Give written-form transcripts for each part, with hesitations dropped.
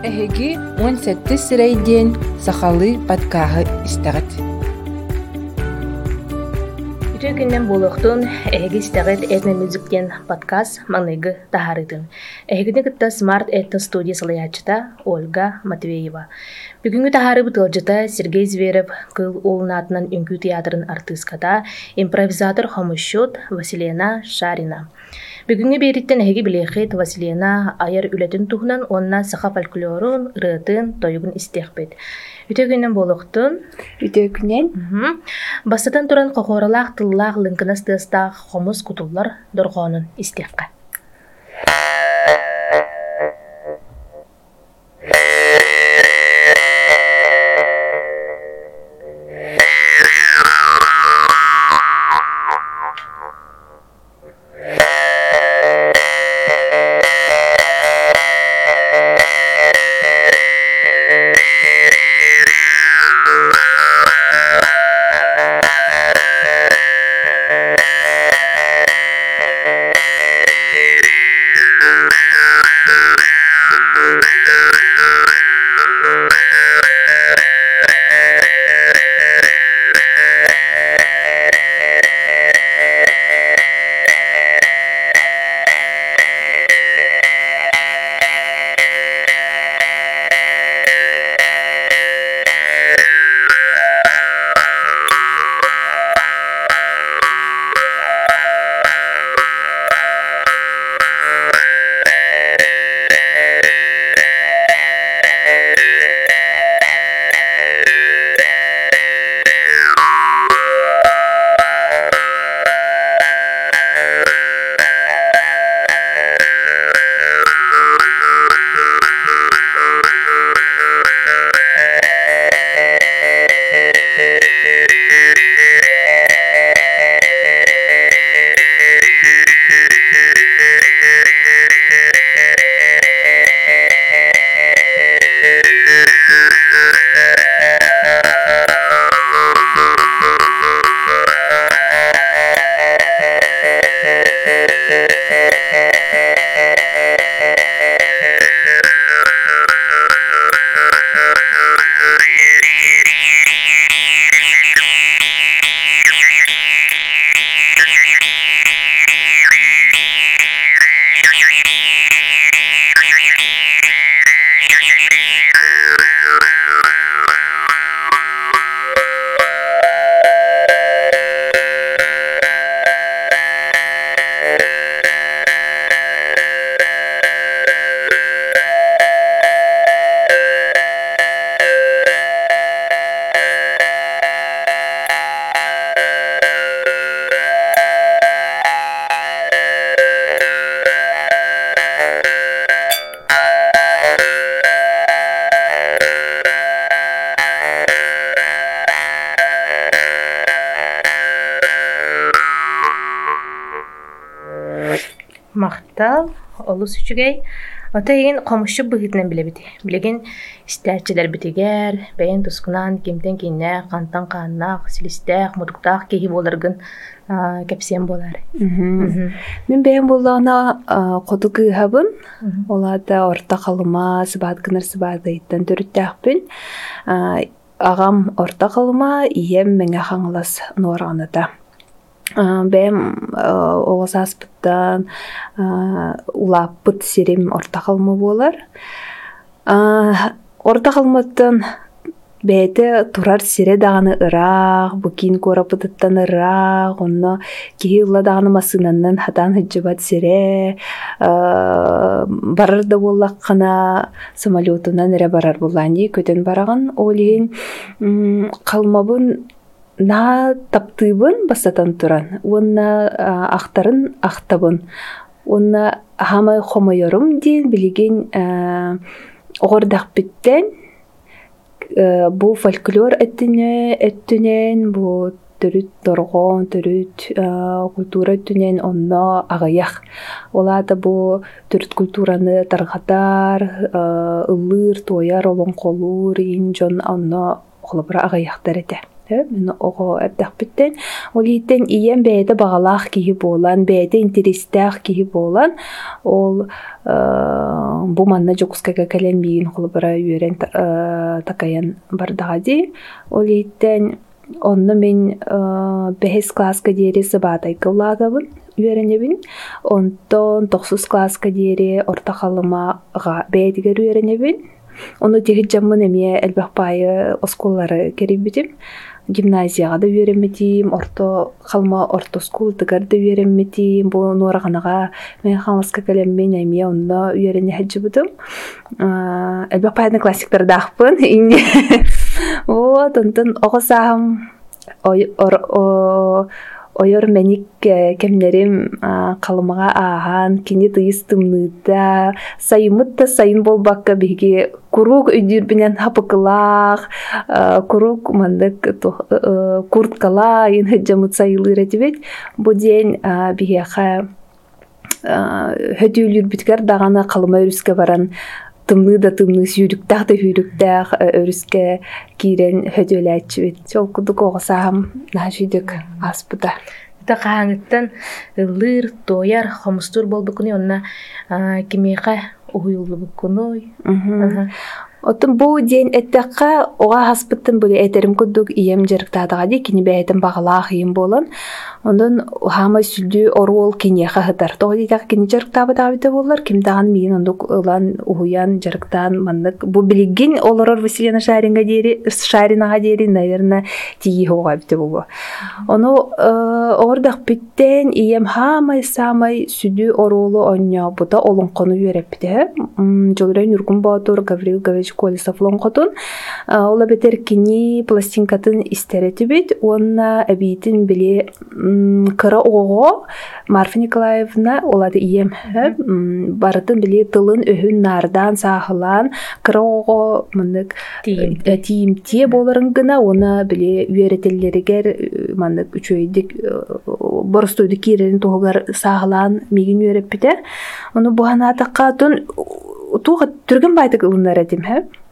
Эһиги 17 сирейден сахалы подкаһы истәгәт. Үтө күннен болуқтун эһиги истәгәт этно мюзиктен подкаст маныгы тахарытын. Эһигини кытта Smart Etno студия салаячыта Ольга Матвеева. Бүгүнгү тахары бытылжыта Сергей Зверев кыл улунатынан үңкүү театрын артистката импровизатор хомушут Василена Шарина. Бүгүнгү бериттен эһиги билехет Василена айыр үлетин тухунан онна саха фольклорун, ырытын, тойгун истехпет. Үтө күннен болуқтун. Үтө күннен. Бастатан туран кохоралаах тыллаах лынкынас тыстаах хомус кутуллар доргонун истехка. Мактал олус үчүгей отайын комушчу быгытынан билебити. Билеген истәчелер битигер, бәйен тускунан кемтен кинне, кантан каннак, силистәк, мудуктак кеһи боларгын кепсен болар. Мен бәйен боллагына коду кыһабын. Оларда орта калыма сыбат гынар сыбадайттан төрүттәкпин. Агам орта калыма, ием меңе хаңлас нуарганыта. Бәйем оғысаспыттан улаппыт сирим орта қалмы болар. Орта қалмыттан бәйті турар сире дағаны ырақ, бұкин корапыттан ырақ, онны кейі ұла дағаны масынаннан хатан хыджыбат сире, барар да боллақ қана самолетунан әрі барар болланы көтен бараған. Олейін қалмабын на таптыбын бастатан туран. Онна ақтарын ақтабын. Онна хамай хомайорым дейін білеген оғырдақ біттен бұл фольклор әттінен, бұл төрүт торгон, төрүт культура өттінен онна ағаяқ. Олада бұл төрүт культураны тарғатар, ылыр, тояр, олон қолур, ин жон онна қолыбыра ағаяқтар әті. Мен ого эрдэхпиттен олиттен иен бэйэ багалаах киһи буолан, бэйэ интерестээх киһи буолан, ол бу манна жокускага кэлэн биин холбара үөрен такаян бардагади. Олиттен онно мен бэхэс класска диэри сыбаатай кыллаатабын үөренебин. Онтон 9 класска диэри орта халымага бэйдигер үөренебин. Ону тегит жаммын эмие элбахпайы осколлары керибитим. Гимназияга да үөренметим, орто халма орто скултыгар да үөренметим. Бу нуораганага мен халаска кэлеммен эмие онно үөрене хаджыбытым. Элбахпайны классиктар дахпын. Вот, онтон огосаам ойор меник кемнерим калымага аахан кини тыйыс тымныта сайымытта сайын болбакка биги курук өйдүрбинен хапыкылаах курук мандык курткала ин хаджамыт сайылыр этибет бу ден бигеха хөдүүлүр биткер дагана калыма өрүскө баран тымны да тымны сүйрүктах да хүрүктах өрүскө кирен хөдөләчүбет. Сол кудук огосаам нажидик аспыта. Та кааңыттан ылыр тояр хомустур болбукуну онна кимеха уюлбукуну. Отун бу ден эттекка ога хаспыттын бүле этерим кудук ием жерктадыга ди кини бээтин багалаах ием болон. Ондан хама сүлдү орол кинеха хытар. Тоги так кини жерктабыда бите боллар. Кимдаган миин ондук ылан уюян жерктан мандык бу билигин олорор Василина Шаринага дери, наверное, тиги хога бите болу. Ону ордак биттен ием хамай самай сүлдү оролу онья бута олонкону юрепте. Жолрен Юргун Батур, Гаврил Гавич Колесов лонкотун. Ола бетер кини пластинкатын истеретибит. Онна абитин биле кыра ого Марфа Николаевна олады ием барытын биле тылын өһүн нардан сахылан кыра ого мындык тиимте боларын гына оны биле үөретеллеригер мындык үчөйдик боростойду кирерин тогар сахылан мигин үөреппите. Оны буханатакка тун туга түргөн байтык ылынар этим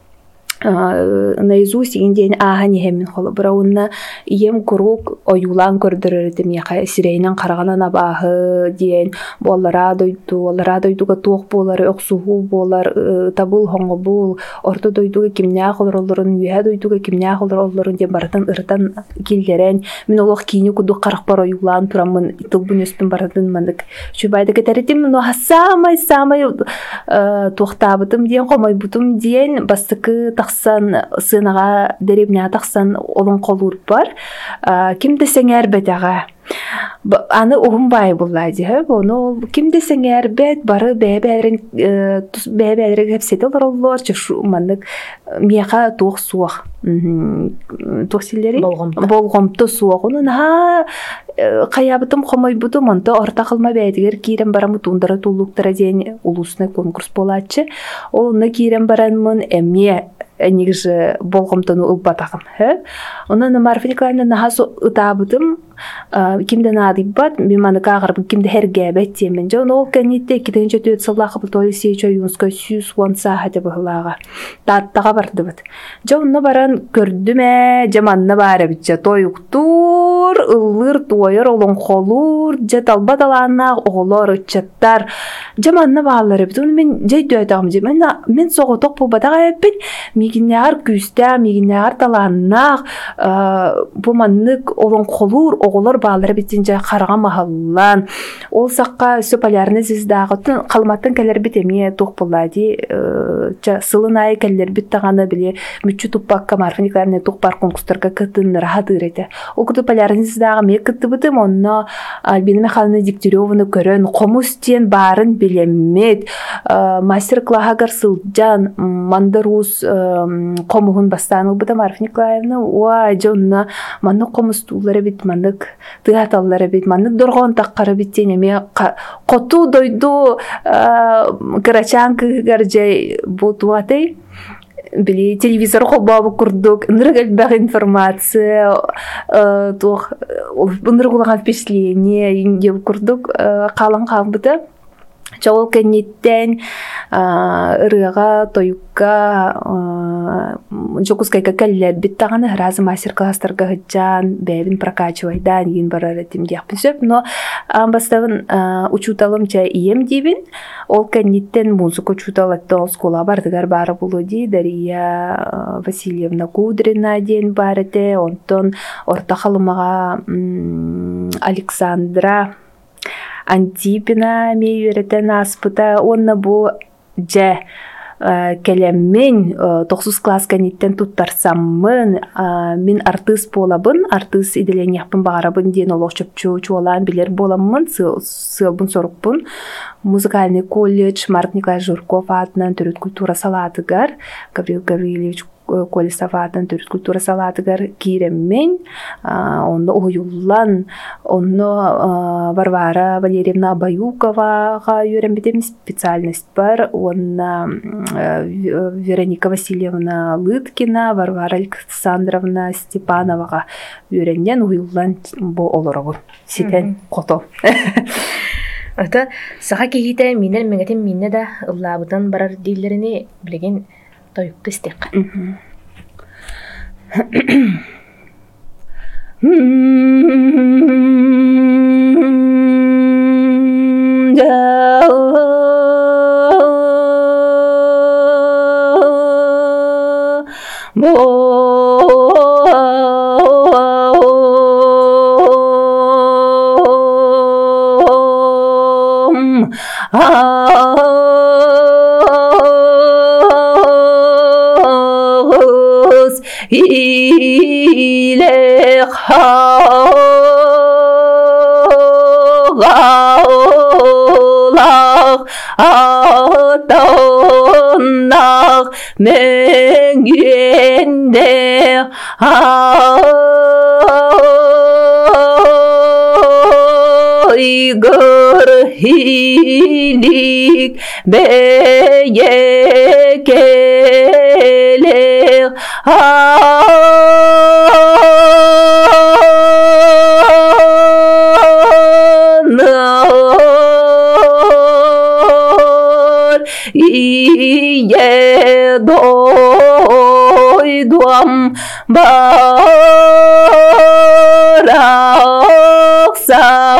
наизусть инден ахани хемин холо брауна ием курук оюлан көрдөрөтем яка сирейнен караганан абахы диен боллара дойдуга туок болар оксугу болар табыл хоңобул орто дойдуга кимнаа холорлорун үе дойдуга кимнаа холорлорун ден баратан ыртан килдерен мен олох кини куду карак бар оюлан турамын итылбын өспүн баратын мандык чубайды кетеретим но самай туктабытым диен комой бутум диен бастыкы сынага деребня таксан олон колур бар. Ким десеңер бетага. Аны угунбай буллайды. Ону ким десеңер бет бары бебелерин хепсете олорлор чышу мандык мияка тук суак. Токсиллери болгомто суак. Онун каябытым комой бутум онто орта кылма бэдигер кирен барамы тундара тулуктара ден улусна конкурс болачы. Олна кирен баранмын эмме негиже болгомтону ылбатагым. Онан Марфа Николаевна нахасу ытабытым кимден адибат миманы кагарып кимде хергебет темен жон ол канитте киденче төт саллахы толиси чоюнска сюс вонса хате бахлага таттага бардыбыт жонно баран көрдүмө жаманна бары биче тоюктур ыллыр туойор олон холур же талбадалана оголор чаттар жаманна баалары бит мен жейдөтам мен соготок булбатага эппит мигиннар күстә мигиннар таланнак бу маннык олон холур оголор баалары битинже карага махаллан ол сакка сөп полярный звездагы калматтын келер битеме тук буллади сылынай келер биттаганы биле мүчү туппакка Марфа Николаевна тук бар конкурстарга кытын рахатыр эте ол куду полярный звездагы ме кыттыбытым онно Альбина Михайловна Дегтяреваны көрөн комустен барын билемет мастер-класс сылжан мандарус комугун бастааны быта Марфа Николаевна ва жонна манны комустулары бит маннык тыаталлары бит маннык доргон таккары биттене ме коту дойду карачан кыржай бутуатай били телевизор хобабы курдук ныргал информация тох ныргулаган впечатление инде курдук калан калбыта Чоол кенниттен ырыга тоюкка жокускайка келлер биттаганы разы мастер-класстарга хыджан бэбин прокачивайдан ин барар этим диякпын сөп, но бастабын учуталым ча ием дибин, ол кенниттен музыка учуталатты скола бардыгар бары булу ди, Дарья Васильевна Кудрина ден барыте, онтон орта халымага Александра Антипина мейверетен аспыта, онна бу же келеммен 9 класс кенниттен туттарсаммын, мен артист болабын, артист иделен япын бағарабын ден олық чөпчу-чуалан билер боламын, сылбын сорықпын. Музыкальный колледж Марк Николаевич Журков атынан түріт культура салатыгар, Гаврил Гаврилевич Колесов атынан түріт культура салатыгар киреммен, онны ойуллан, онны Варвара Валерьевна Баюковаға үйренбедем специальность бар, онна Вероника Васильевна Лыткина, Варвара Александровна Степановаға үйренген ойуллан бұл олырығы. Сетен қото. Ата саха кихите минер меңетин минне да ыллабытан барар диллерини билеген тойукты истек. Hilik beyekeler anar iye doydum baraksa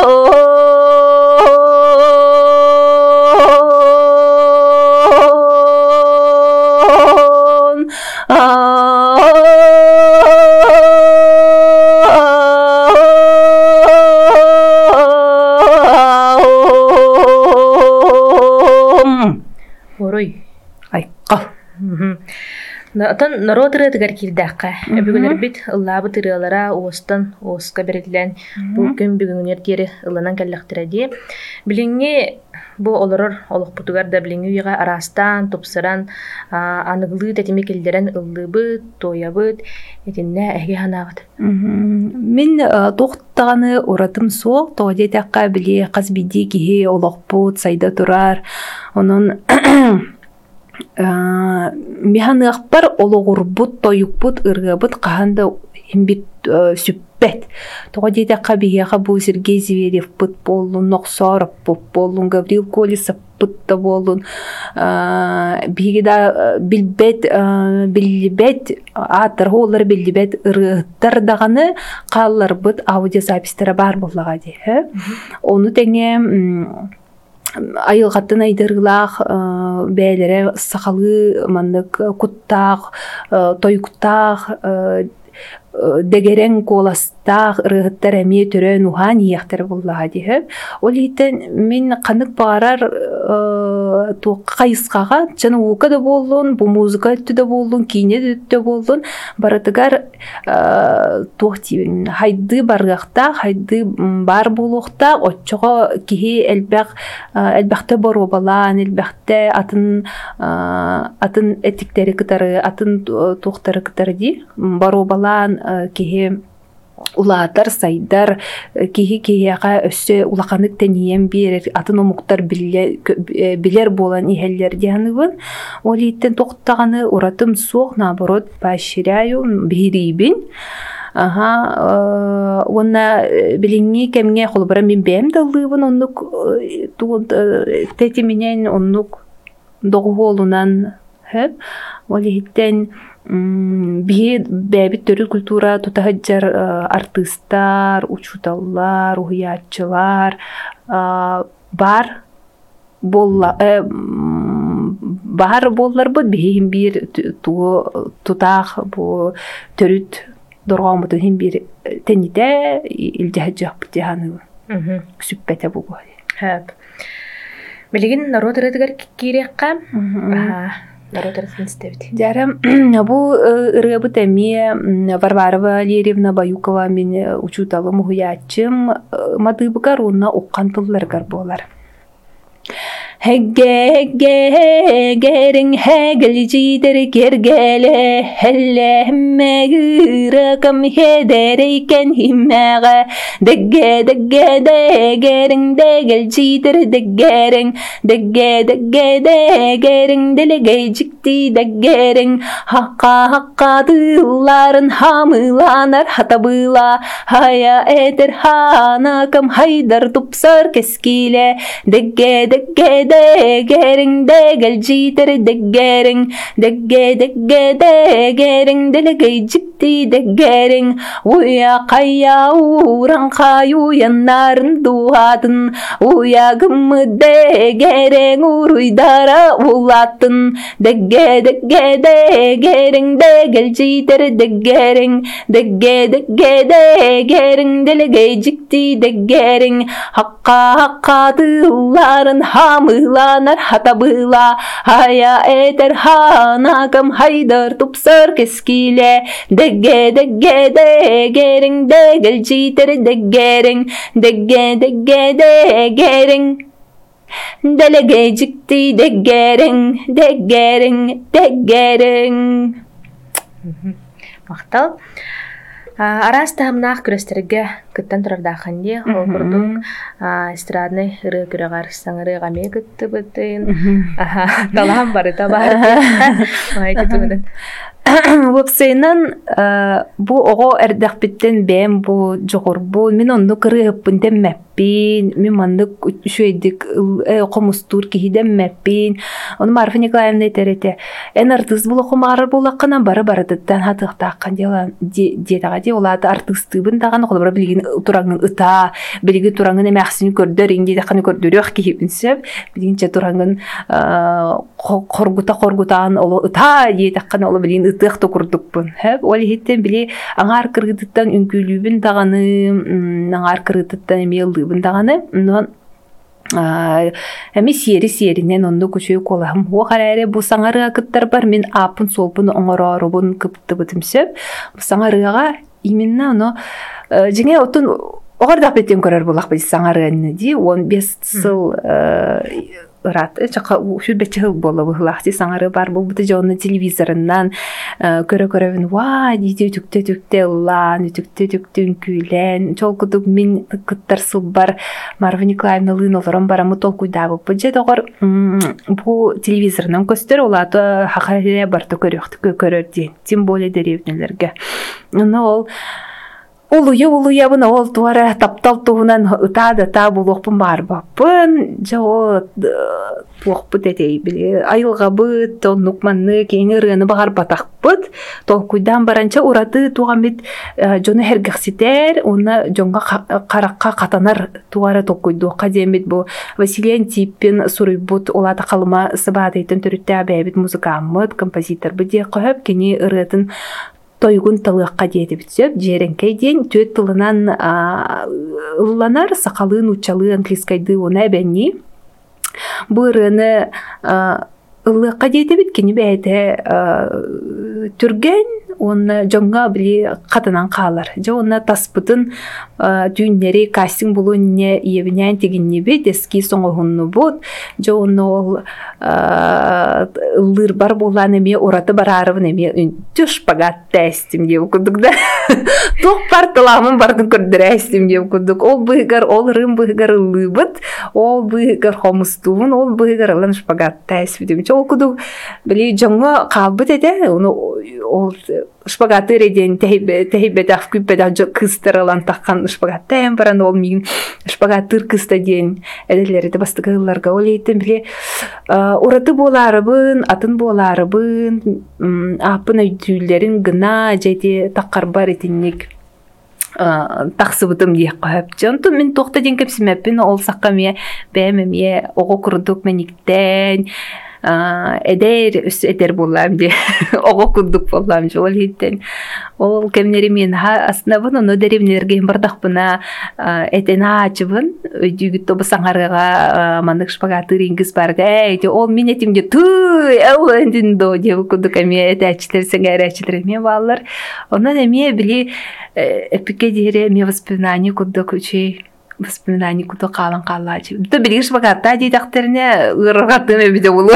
Натан народыры тигәр кирдәккә. Бүгеннәр бит ыллабы тырылара остан оска берилән бу көн бүгеннәр тире ылынан кәлләхтерәди. Билеңне бу олорор олык бутугар да билеңне уйга арастан топсыран аныглы тәтиме келдерен ыллыбы тоябыт этинне әге ханабыт. Мен тоқтаганы уратым соқ тоде тәккә биле казбиди ки олык бут сайда турар. Onun механыахпар ологурбут тоюкбут ыргабыт каханда химбит сүппет. Тоға дейді қабияға бұл Сергей Зверев бұт болын, Ноқсаров бұт болын, Гаврил Колесов бұтта болын. Бейгіда білбет, атырғы олар білбет ырғыттар дағаны қалылар бұт аудиозапистері бар болыға де. Оны тәне айылғаттын айдырғылақ бәлері сақалы мандық құттақ, тойқұттақ, дегерен коластақ ырғыттар әме түрен уған ияқтар болыға дейіп. Ол ейтін мен қанық бағарар қайысқаға жаны уқа да болын, бұл музыка өтті да болын, кейіне де өтті болын. Баратығар тоқтейбін. Хайды барғақта, хайды бар болуқта, отчыға кейі әлбәқті бар обалан, әлбәқті атын әтіктері кітары, атын тоқтары кітары дей. Бар обалан кейі улаатар сайдар киһи-киһиэҕэ өссө улаханык тением биэрер атын омуктар билер буолан иһэллэр дианыбын ол ииттен тохтаганы уратым суох наоборот поощряю биһириибин уонна билиңни кемҥе холбара мин бэм даллыыбын оннук тети минен оннук доҕуолунан хэп ол ииттен биһи бэбит төрү культура тутаһыдьар артыстар, учуталлар, уһуяаччылар бар болларбыт биһи хим биир тутаах бу төрүт доргоомутун хим биир тенните илдьэһэджахпыт диаһаныбы сүппэте бугу билигин народ ырыдыгар кириэкка Дярам, бу ырыбыт эмие Варвара Валерьевна Баюкова мен учуталым уһуяаччым мадыыбыгар уонна уккан тылларыгар буолар. Хэггэгэгэрин хэгэлжидэр гэргэлэ хэллэммэгыракам хэдэрейкен химмэгэ дэггэ-дэггэ-дэгэрин дэгэлжидэр дэггэрин дэлэгэйжикти дэггэрин хакка-хаккадылларын хамыланар хатабыла хая этер ханакам хайдар тупсар кескиле дэггэ-дэггэ-дэгэрин дэгэлжидэр дэггэрин дэггэ-дэггэ-дэгэрин дэлэгэйжикти дэггэрин уя-кайя уран-каю яннарын дуатын уягыммы дэгэрин уруйдара улатын дэггэ-дэггэ-дэгэрин дэгэлжидэр дэггэрин дэггэ-дэггэ-дэгэрин дэлэгэйжикти дэггэрин хакка-хаккадылларын хамыланар хатабыла хая этер ханакам хайдар тупсар кескиле дэггэ-дэггэ-дэгэрин дэгэлжидэр дэггэрин дэггэ-дэггэ-дэгэрин дэлэгэйжикти дэггэрин мактал араас таамнаах күрестерге кыттан турардаахан дии холкурдук эстрадный ыры күрөгар саңыры гаме кыттыбытын талаам барыта бар айтытыбытын Вопсайнан бу ого эрдэхпиттен бэм бу жогорбу мен онну кырыыппын деммэппин мен мандык үчүэдик комустур кихидеммэппин оны Марфа Николаевна этерете эн артыст булохумаар булакканан бары-барытыттан хатыктааккан диетага ди олааты артыстыбын даган холбора билигин тураңын ыта билиги тураңын эмэхсин көрдөр индидаканы көрдөрүөх кихипинсеп билигинче тураңын коргутаан оло ыта диетаккан оло билигин ытыахты курдукпун ол хиттен били аңар кыргытыттан үңкүлүүбүн даганы аңар кыргытыттан эмиэлдыыбын даганы эми сиеринен онду көчөй колам о караре бу саңарыга кыттар бар мен апын солпун оңорорубун кыптыбытымсеп саңарыга именно оно жеңе отун огордак беттен көрөр булак биз саңарыны ди 15 сыл ырат чака шүрбече боло булакти саңары бар бул бут жонун телевизорунан көрө-көрөбүн ва диди түктө лан түктө күйлен чолкудук мен кыттар сыл бар Марфа Николаевна лыналарым барамы толкуйдабы бужет огор бу телевизорунан көстөр олаты хакаре барты көрөр ди тем более деревнелерге ол улуя бына ол туара таптал туунан ыта булокпун барбаппын жоо булокпут этей биле айылгабыт оннукманны кийин ырыны багар батакпыт толкуйдан баранча ураты туган бит жону хергекситер уна жонга каракка катанар туара толкуйдуакка демит бу Василий Антипин суруйбут олата калыма сыбаатыйтын төрүттэ бэбит музыкаммыт композиторбы дие көп кини ырытын тойгун тылыакка диэти битсеп жеренкей ден төт тылынан ылланар сакалын учалы английскайды уна бенни бырыны ылыакка диэти бит кини бэйте түрген онна жоңга били катынан каалар. Же онна таспытын дүйнери кастинг булунне иебинен тигиннеби дески соңохунну бут. Же онна ол лыр бар булан эме ураты барарыбын эме түш пагат тестим деп кудук да. Тох парталамын бардын көрдүрәстим деп кудук. Ол быгар ол рым быгар лыбыт, ол быгар хомустуун, ол быгар лан шпагат тестим деп. Ол кудук били жоңга калбыт эде. Ол шпагаты реден tehibbe da küppe da kıstırılan takkan şpagatten baran olmayın şpagatır kısta diyen edeleri de bastıgılarga oleydim bile oratı bolarыбын atın bolarыбын apın ödüllerin gına jadi takkar bar etinlik тахсыбытым дие кап. Жонту мен тохта ден кепсимеппин ол саккамия бемемие ого курдук мениктен эдер үс этер боллам ди ого курдук боллам жол хиттен ол кемнери мен астына буну нодеримнерге бардакпына этена ачыбын өйдүгүт тобусаңарга мандык шпагаты рингис барга эти ол мен этимде туй элендин до деп курдук эме этечтер сеңеречтер мен баллар онан эме били эпике дире ме воспоминания курдук учи воспоминания куда калан калачы. Да билиш багатта дидактерине ыргатыме биде болу.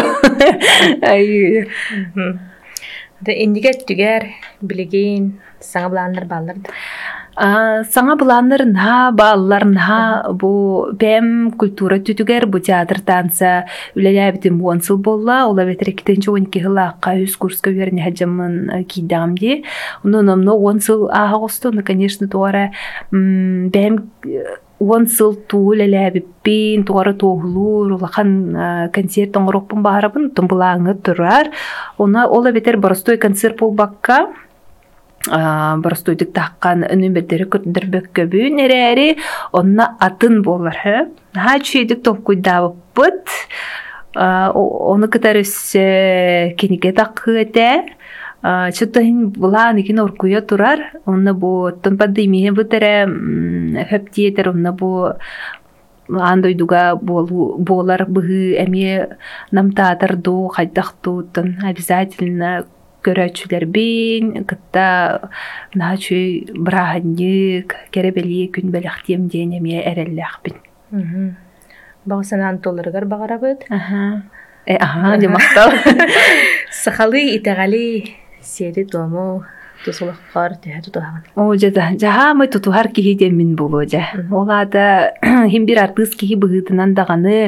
Да индигет түгер билеген саңа буланнар баллар. Саңа буланнар на баллар на бу бем культура түтүгер бу театр танца үлеләбитим онсыл болла. Ола ветер 2-12 жылакка үз курска берне хаҗамын кидамди. Унун онсыл агысты, конечно, тора бем онсыл туулеләбиппин тугары тоглур улахан концерт оңроппун барабын тумбулаңы турар. Она ола ветер барыстой концерт болбакка барыстойдык таккан өнүмбеттери көрдөрбөк көбүн эрери онна атын болар. Ha чүйдүк топкуйдабыппыт. Оны кытарыс кениге такыте. Чөтөн булан икин оркуя турар. Онна бу тонпаддыймие бытере хөптиетер онна бу андойдуга болар быгы эме намтаатарду хайдактуутун обязательно көрөчүлер бин кытта начы браханьык керебели күн белехтем денеме эреллехбин. Багысанан толыргар багарабыт. Демактал. Сахалы итагали сери тому тусулаккар тутаган. О жаха мы тутухар кихиде мин боложа. Олада химбир артыс кихи быгытынан даганы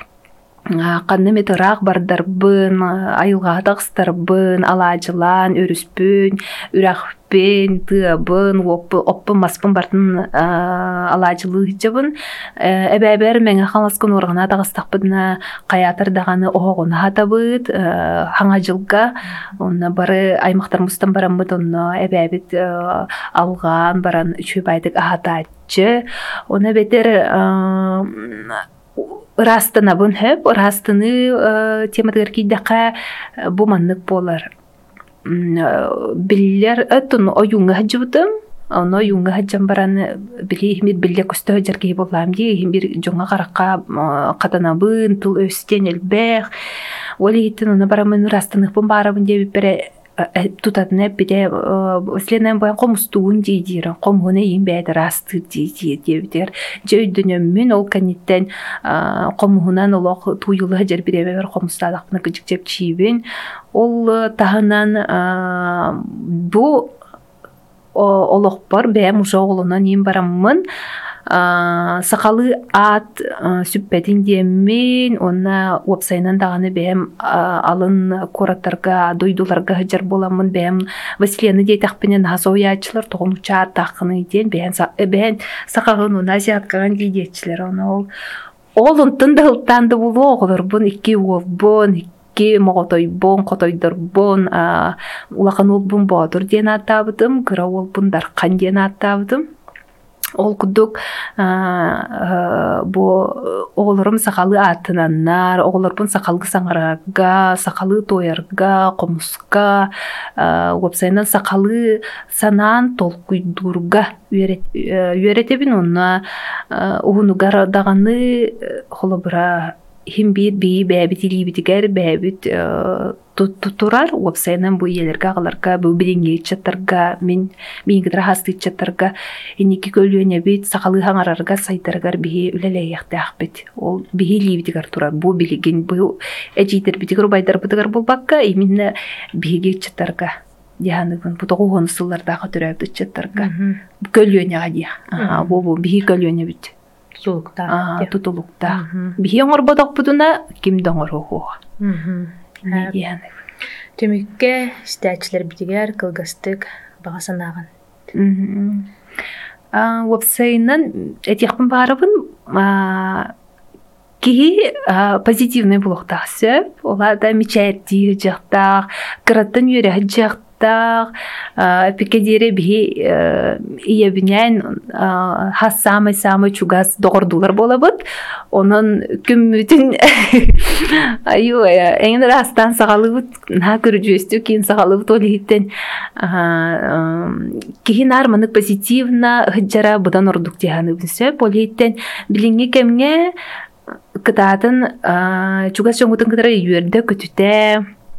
канны метрак бардарбын, айылга тагыстарбын, алажылан, өрүспүн, үрахпен, тыбын, оппын, маспын бартын алажылы жабын. Эбәбер меңе халаскын органа тагыстакпын каятыр даганы огоны хатабыт, хаңа жылга, онна бары аймактар мустан барамбыт, онна эбәбит алган баран чөбайдык ахатачы. Оны бетер Растына бун хөп, растыны темадыр кийдака бу маннык болар. Биллер өтүн оюңга хаджыбытым, оны оюңга хаджам бараны били химир билле көстө жарги болам ди, химир жоңга каракка катанабын, тул өстен элбех. Оли иттин оны барамын растыны бун барабын деп бере тутатны биде следен боян комустуун дейдир комгоне имбет расты дейдир жөйдүнөмүн ол каниттен комгунан олох туюлу жер биребер комустадакны кыжыкчеп чийбин ол тахынан бу олохпор бем уже оголунан им бараммын сакалы ат сүппетин диемин онна уапсайнан даганы бем алын кораттарга дойдуларга жар боламын бем Василияны дейтакпенен хасоячылар тогунуча такыны ден бен сакагын уназияткаган дейдетчилер оны ол онтында ылтанды болу оголорбун икки уолбун икки моготойбун котойдорбун улакан олбун боодур ден аттабытым кыра олбун даркан ден аттабытым. Ол кудук бу оголорум сакалы атынаннар, оголорбун сакалгы саңарага, сакалы тоярга, комуска, уапсайнан сакалы санаан толкуйдурга үйөретебин онна угунугар даганы холобура химбит бии бәбит илибитигер бәбит турар уопсайнан бу иелерге агаларга бу биринге чаттарга мен гидра хасты чаттарга иники көлүнө бит сакалы хаңарарга сайдаргар бии үлелеяктаах бит ол бии ливдигар турар бу билеген бу эжитер битигер байдар бутагар болбакка именно бииге чаттарга яныгын бутогу гонсуллардагы төрөбүт чаттарга көлүнө гадия бу бии көлүнө бит сулукта тутулукта бии оңорбодок бутуна ким доңорого Төмүкке стәчлер битигер кылгастык багасанаган. Вебсайнан этихпен барыбын кихи позитивный блогтаксы, ола да мечайти жактак, кыраттан юрэ жактак, пикедере би иебинен хас самый чугас догордулар болабыт. Онун күмүтүн аю эң растан сагалыбыт на көрүжөстү кийин сагалыбыт олиттен кихин арманы позитивна хыджара будан ордук деганы билсе политтен билинге кемге кытатын чугас жоңутун кытары юерде көтүтэ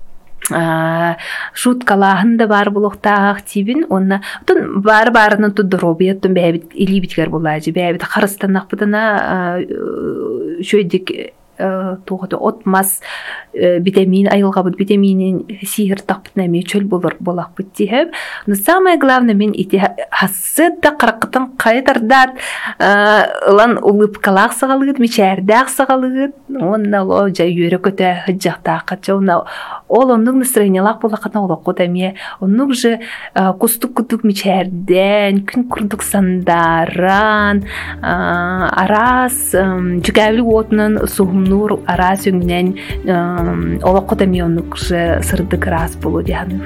шуткалаһын да бар булуктаах тибин онна тун бар-барынан туддуробияттын бэбит илибитгер булажы бэбит харыстаннакпытына шөйдик тугаты отмас витамин айылгабыт витаминин сихир таппытнами чөл болакпыт тиһеп. Но самое главное мен ити хассыда каракытын кайтардат ылан улыпкалаах сагалыгыт мичээрдаах сагалыгыт онна ло жай үйрө көтө хыджактаакка чона ол оннук настроениялаак болакына олоккутамие оннук же кустук мичээрден күн курдук сандаран арас жүгәбил отунун сухумнур арас өңнен олоккутамие оннук же сырдык рас болу дияны.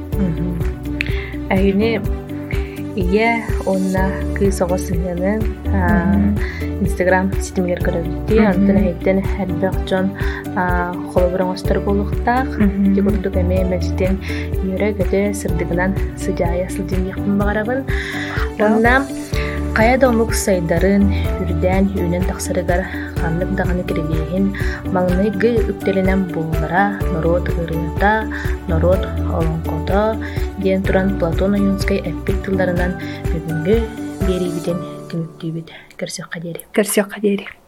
Айыне ие онна кысогосыгынын Instagram ситимгер көрөбүтти антын хейттен хербек жон холобуроңостор болуктак дегурдук эме мечтен юрэ көтө сырдыгынан сыжая сылдын якын багарабын онна кая домук сайдарын үрден үйнен таксырыгар ханнык даганы кирилиһин маңныгы үктеленен буолара народ ырыта народ олонкото диэн туран Платон Аюнский эппик тылдарынан бүгүнгү берибитен күмүктүүбүт көрсөк кадери